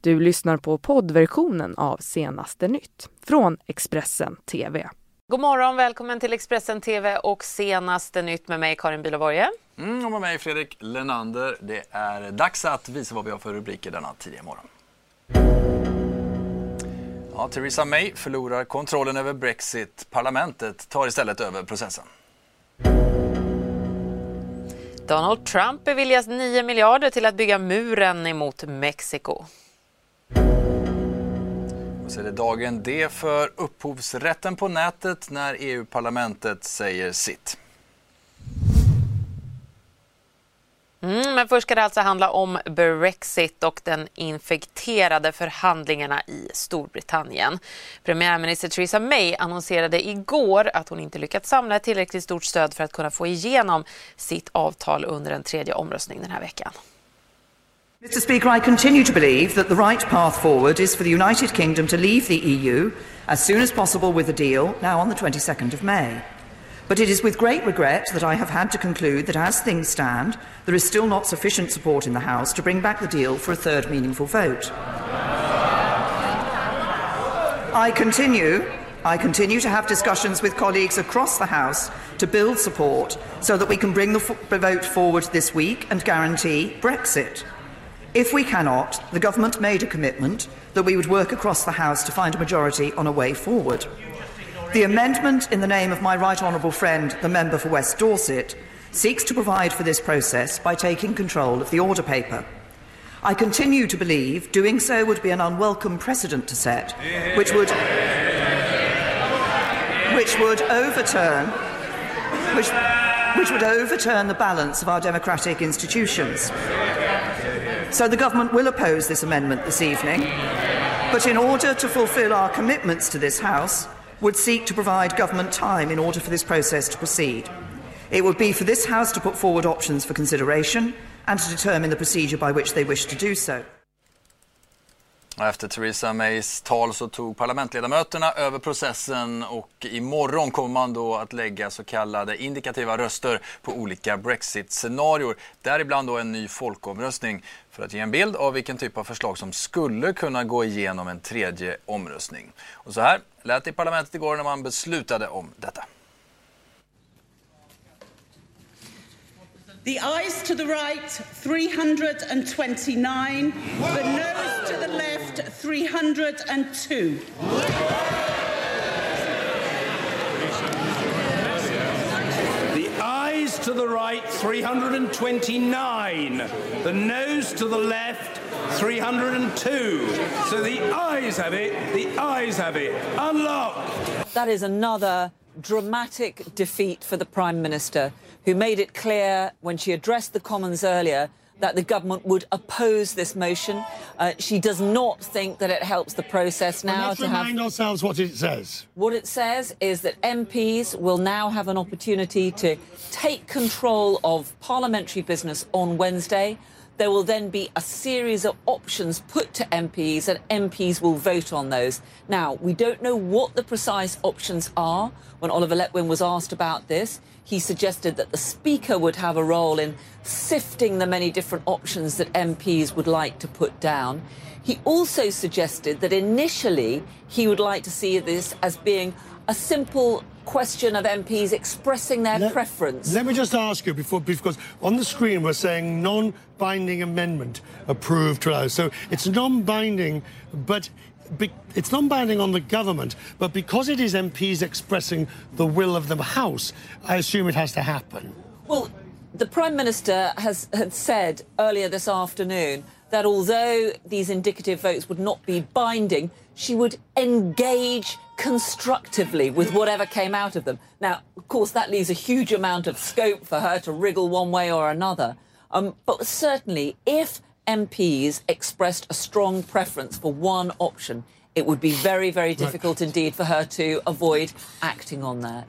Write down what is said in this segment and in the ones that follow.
Du lyssnar på poddversionen av Senaste nytt från Expressen TV. God morgon, välkommen till Expressen TV och Senaste nytt med mig Karin Bülow-Borge. Och med mig Fredrik Lenander. Det är dags att visa vad vi har för rubriker denna tidiga morgon. Ja, Theresa May förlorar kontrollen över Brexit. Parlamentet tar istället över processen. Donald Trump beviljas 9 miljarder till att bygga muren emot Mexiko. Och så är det dagen D för upphovsrätten på nätet när EU-parlamentet säger sitt. Men först ska det alltså handla om Brexit och den infekterade förhandlingarna i Storbritannien. Premiärminister Theresa May annonserade igår att hon inte lyckats samla ett tillräckligt stort stöd för att kunna få igenom sitt avtal under en tredje omröstning den här veckan. Mr. Speaker, I continue to believe that the right path forward is for the United Kingdom to leave the EU as soon as possible with a deal now on the 22nd of May. But it is with great regret that I have had to conclude that as things stand, there is still not sufficient support in the House to bring back the deal for a third meaningful vote. I continue to have discussions with colleagues across the House to build support so that we can bring the vote forward this week and guarantee Brexit. If we cannot, the government made a commitment that we would work across the House to find a majority on a way forward. The amendment in the name of my right honourable friend, the member for West Dorset, seeks to provide for this process by taking control of the order paper. I continue to believe doing so would be an unwelcome precedent to set, which would overturn the balance of our democratic institutions. So the government will oppose this amendment this evening, but in order to fulfil our commitments to this House, would seek to provide government time in order for this process to proceed. It would be for this House to put forward options for consideration and to determine the procedure by which they wish to do so. Efter Theresa Mays tal så tog parlamentledamöterna över processen och imorgon kommer man då att lägga så kallade indikativa röster på olika Brexit-scenarior. Däribland då en ny folkomröstning för att ge en bild av vilken typ av förslag som skulle kunna gå igenom en tredje omröstning. Och så här lät det i parlamentet igår när man beslutade om detta. The ayes to the right, 329. The noes to the left, 302. The ayes to the right, 329. The noes to the left, 302. So the ayes have it, the ayes have it. Unlock! That is another dramatic defeat for the Prime Minister, who made it clear when she addressed the Commons earlier that the government would oppose this motion. She does not think that it helps the process now. Let's remind ourselves what it says. What it says is that MPs will now have an opportunity to take control of parliamentary business on Wednesday. There will then be a series of options put to MPs and MPs will vote on those. Now, we don't know what the precise options are. When Oliver Letwin was asked about this, he suggested that the Speaker would have a role in sifting the many different options that MPs would like to put down. He also suggested that initially he would like to see this as being a simple question of MPs expressing their preference. Let me just ask you because on the screen we're saying non-binding amendment approved. So it's non-binding, but it's non-binding on the government, but because it is MPs expressing the will of the House, I assume it has to happen. Well, the Prime Minister had said earlier this afternoon that although these indicative votes would not be binding, she would engage constructively with whatever came out of them. Now, of course, that leaves a huge amount of scope for her to wriggle one way or another. But certainly, if MPs expressed a strong preference for one option, it would be very, very difficult indeed for her to avoid acting on that.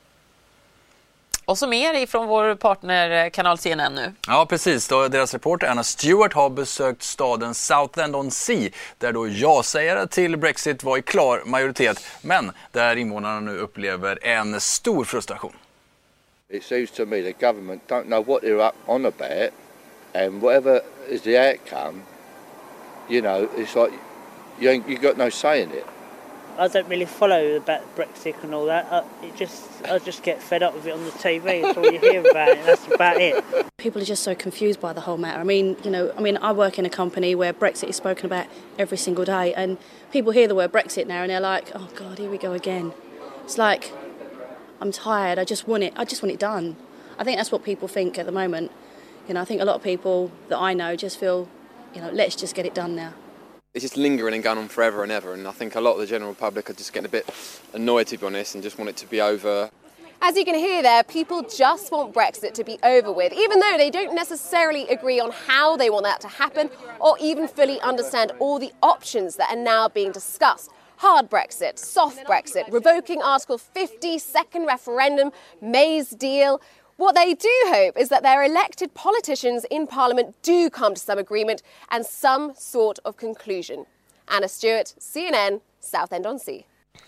Och så mer ifrån vår partner kanal CNN nu. Ja, precis. Deras reporter Anna Stewart har besökt staden Southend-on-Sea där då ja-sägare till Brexit var i klar majoritet, men där invånarna nu upplever en stor frustration. It seems to me the government don't know what they're up on about, and whatever is the outcome, you know, it's like you got no say in it. I don't really follow about Brexit and all that. I just get fed up with it on the TV. That's all you hear about it. That's about it. People are just so confused by the whole matter. I work in a company where Brexit is spoken about every single day, and people hear the word Brexit now and they're like, "Oh God, here we go again." It's like, I'm tired. I just want it done. I think that's what people think at the moment. I think a lot of people that I know just feel, let's just get it done now. It's just lingering and going on forever and ever, and I think a lot of the general public are just getting a bit annoyed, to be honest, and just want it to be over. As you can hear there, people just want Brexit to be over with, even though they don't necessarily agree on how they want that to happen or even fully understand all the options that are now being discussed. Hard Brexit, soft Brexit, revoking Article 50, second referendum, May's deal. What they do hope is that their elected politicians in Parliament do come to some agreement and some sort of conclusion. Anna Stewart, CNN, Southend-on-Sea.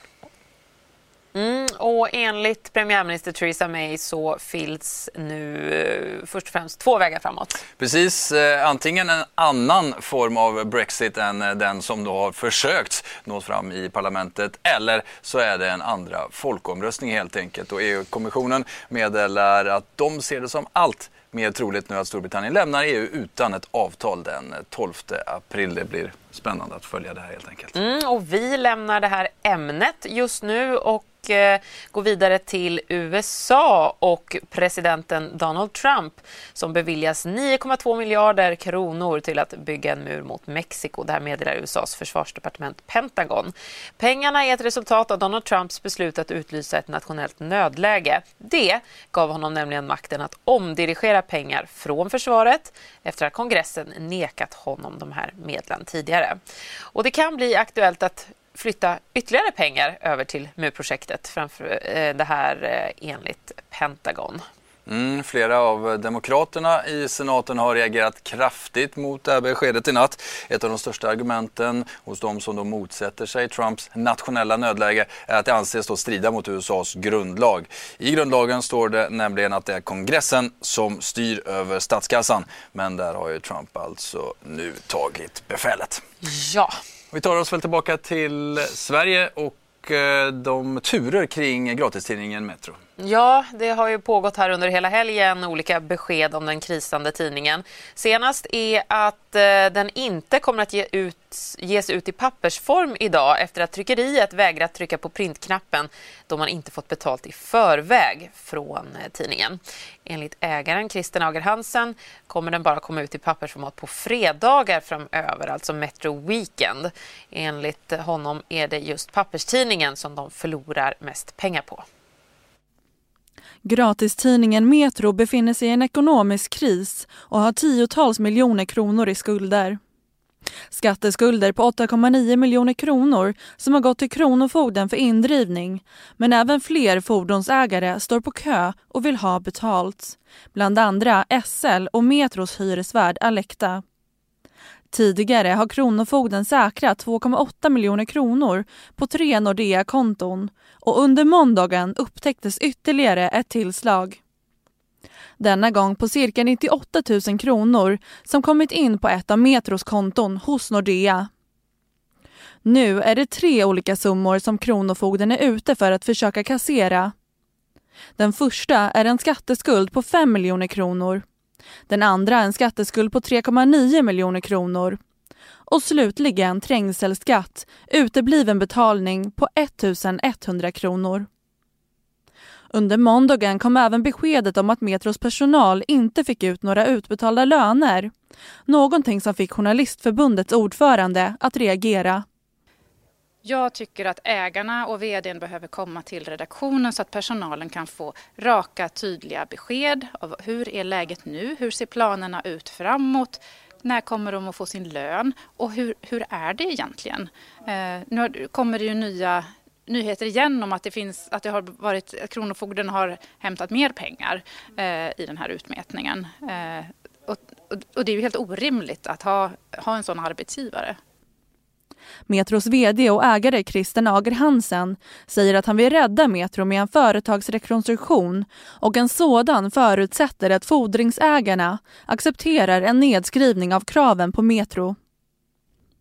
Och enligt premiärminister Theresa May så finns nu först och främst två vägar framåt. Precis, antingen en annan form av Brexit än den som då har försökt nå fram i parlamentet, eller så är det en andra folkomröstning helt enkelt. Och EU-kommissionen meddelar att de ser det som allt mer troligt nu att Storbritannien lämnar EU utan ett avtal den 12 april. Det blir spännande att följa det här helt enkelt. Och vi lämnar det här ämnet just nu och går vidare till USA och presidenten Donald Trump som beviljas 9,2 miljarder kronor till att bygga en mur mot Mexiko. Det här meddelar USAs försvarsdepartement Pentagon. Pengarna är ett resultat av Donald Trumps beslut att utlysa ett nationellt nödläge. Det gav honom nämligen makten att omdirigera pengar från försvaret efter att kongressen nekat honom de här medlen tidigare. Och det kan bli aktuellt att flytta ytterligare pengar över till murprojektet framför det här enligt Pentagon. Flera av demokraterna i senaten har reagerat kraftigt mot det här beskedet i natt. Ett av de största argumenten hos de som då motsätter sig Trumps nationella nödläge är att det anses då strida mot USAs grundlag. I grundlagen står det nämligen att det är kongressen som styr över statskassan. Men där har ju Trump alltså nu tagit befälet. Ja. Vi tar oss väl tillbaka till Sverige och de turer kring gratistidningen Metro. Ja, det har ju pågått här under hela helgen olika besked om den krisande tidningen. Senast är att den inte kommer att ges ut i pappersform idag efter att tryckeriet vägrat trycka på printknappen då man inte fått betalt i förväg från tidningen. Enligt ägaren Christian Ager Hansen kommer den bara komma ut i pappersformat på fredagar framöver, alltså Metro Weekend. Enligt honom är det just papperstidningen som de förlorar mest pengar på. Gratistidningen Metro befinner sig i en ekonomisk kris och har 10-tals miljoner kronor i skulder. Skatteskulder på 8,9 miljoner kronor som har gått till Kronofogden för indrivning, men även fler fordonsägare står på kö och vill ha betalt. Bland andra SL och Metros hyresvärd Alecta. Tidigare har Kronofogden säkrat 2,8 miljoner kronor på 3 Nordea-konton och under måndagen upptäcktes ytterligare ett tillslag. Denna gång på cirka 98 000 kronor som kommit in på ett av Metros konton hos Nordea. Nu är det 3 olika summor som Kronofogden är ute för att försöka kassera. Den första är en skatteskuld på 5 miljoner kronor. Den andra en skatteskuld på 3,9 miljoner kronor. Och slutligen trängselskatt, utebliven betalning på 1 100 kronor. Under måndagen kom även beskedet om att Metros personal inte fick ut några utbetalda löner. Någonting som fick Journalistförbundets ordförande att reagera. Jag tycker att ägarna och vdn behöver komma till redaktionen så att personalen kan få raka, tydliga besked av hur är läget nu, hur ser planerna ut framåt, när kommer de att få sin lön och hur är det egentligen? Nu kommer det ju nya nyheter igen om att att det har varit att Kronofogden har hämtat mer pengar i den här utmätningen. Och det är ju helt orimligt att ha en sån arbetsgivare. Metros vd och ägare Christian Ager Hansen säger att han vill rädda Metro med en företagsrekonstruktion och en sådan förutsätter att fordringsägarna accepterar en nedskrivning av kraven på Metro.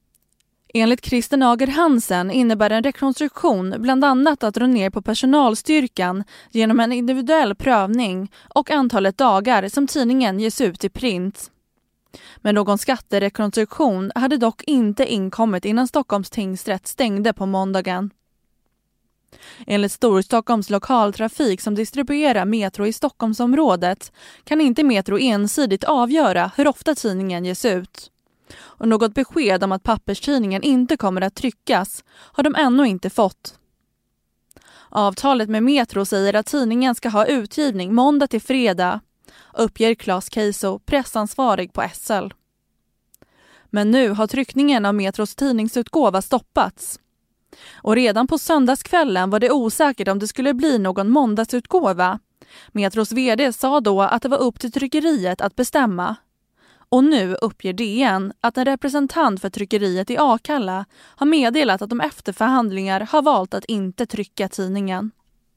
Enligt Christer Nager Hansen innebär en rekonstruktion bland annat att dra ner på personalstyrkan genom en individuell prövning och antalet dagar som tidningen ges ut i print. Men någon skatterekonstruktion hade dock inte inkommit innan Stockholms tingsrätt stängde på måndagen. Enligt Storstockholms lokaltrafik som distribuerar Metro i Stockholmsområdet kan inte Metro ensidigt avgöra hur ofta tidningen ges ut. Och något besked om att papperstidningen inte kommer att tryckas har de ännu inte fått. Avtalet med Metro säger att tidningen ska ha utgivning måndag till fredag, uppger Claes Keiso, pressansvarig på SL. Men nu har tryckningen av Metros tidningsutgåva stoppats. Och redan på söndagskvällen var det osäkert om det skulle bli någon måndagsutgåva. Metros vd sa då att det var upp till tryckeriet att bestämma. Och nu uppger DN att en representant för tryckeriet i Akalla har meddelat att de efter förhandlingar har valt att inte trycka tidningen.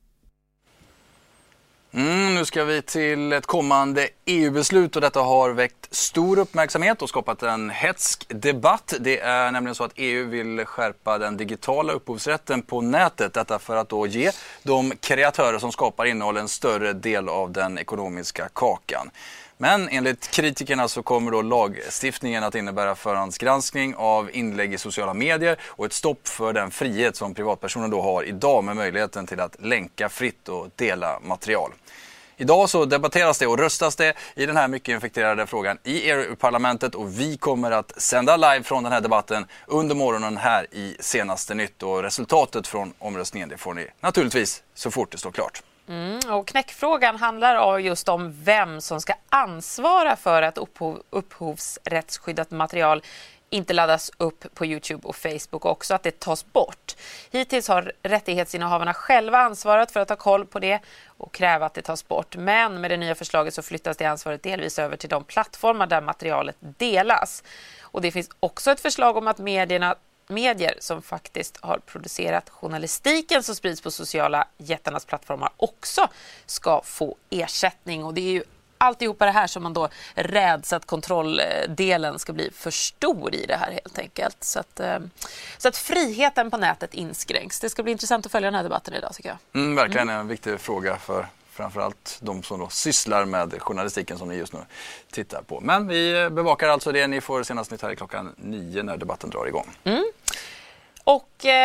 Nu ska vi till ett kommande EU-beslut och detta har väckt stor uppmärksamhet och skapat en hätsk debatt. Det är nämligen så att EU vill skärpa den digitala upphovsrätten på nätet. Detta för att då ge de kreatörer som skapar innehåll en större del av den ekonomiska kakan. Men enligt kritikerna så kommer då lagstiftningen att innebära förhandsgranskning av inlägg i sociala medier och ett stopp för den frihet som privatpersoner då har idag med möjligheten till att länka fritt och dela material. Idag så debatteras det och röstas det i den här mycket infekterade frågan i EU-parlamentet och vi kommer att sända live från den här debatten under morgonen här i Senaste Nytt och resultatet från omröstningen det får ni naturligtvis så fort det står klart. Och knäckfrågan handlar just om vem som ska ansvara för att upphovsrättsskyddat material inte laddas upp på YouTube och Facebook och också att det tas bort. Hittills har rättighetsinnehavarna själva ansvarat för att ta koll på det och kräva att det tas bort. Men med det nya förslaget så flyttas det ansvaret delvis över till de plattformar där materialet delas. Och det finns också ett förslag om att medier som faktiskt har producerat journalistiken som sprids på sociala jättarnas plattformar också ska få ersättning. Och det är ju alltihopa det här som man då räds att kontrolldelen ska bli för stor i det här helt enkelt. Så att friheten på nätet inskränks. Det ska bli intressant att följa den här debatten idag tycker jag. Verkligen en viktig fråga för framförallt de som då sysslar med journalistiken som ni just nu tittar på. Men vi bevakar alltså det. Ni får senast nytt här i 9 när debatten drar igång. Och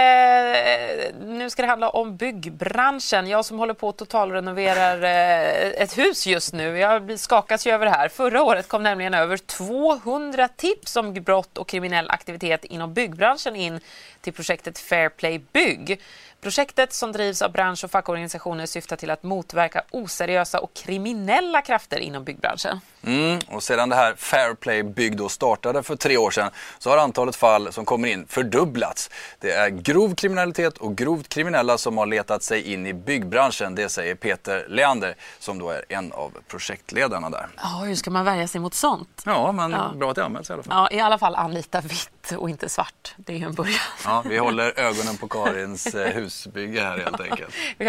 nu ska det handla om byggbranschen. Jag som håller på att totalrenoverar ett hus just nu. Jag skakas ju över det här. Förra året kom nämligen över 200 tips om brott och kriminell aktivitet inom byggbranschen in till projektet Fair Play Bygg. Projektet som drivs av bransch- och fackorganisationer syftar till att motverka oseriösa och kriminella krafter inom byggbranschen. Och sedan det här Fair Play Bygg då startade för 3 år sedan så har antalet fall som kommer in fördubblats. Det är grov kriminalitet och grovt kriminella som har letat sig in i byggbranschen. Det säger Peter Leander som då är en av projektledarna där. Ja, hur ska man värja sig mot sånt? Ja, men bra att det anmäls i alla fall. Ja, i alla fall anlita vitt och inte svart. Det är ju en början. Ja, vi håller ögonen på Karins husbygge här helt enkelt.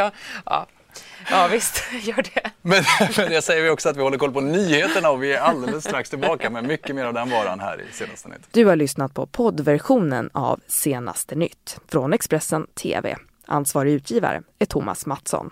Ja, visst, gör det. Men det säger vi också att vi håller koll på nyheterna och vi är alldeles strax tillbaka med mycket mer av den varan här i Senaste Nytt. Du har lyssnat på poddversionen av Senaste Nytt från Expressen TV. Ansvarig utgivare är Thomas Mattsson.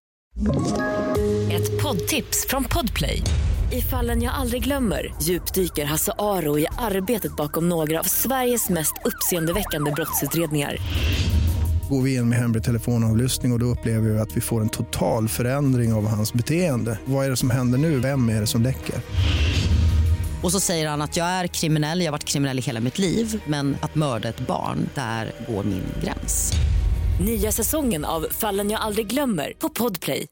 Ett poddtips från Podplay. I Fallen jag aldrig glömmer djupdyker Hasse Aro i arbetet bakom några av Sveriges mest uppseendeväckande brottsutredningar. Går vi in med hemlig telefonavlyssning och då upplever vi att vi får en total förändring av hans beteende. Vad är det som händer nu? Vem är det som läcker? Och så säger han att jag är kriminell, jag har varit kriminell i hela mitt liv. Men att mörda ett barn, där går min gräns. Nya säsongen av Fallen jag aldrig glömmer på Podplay.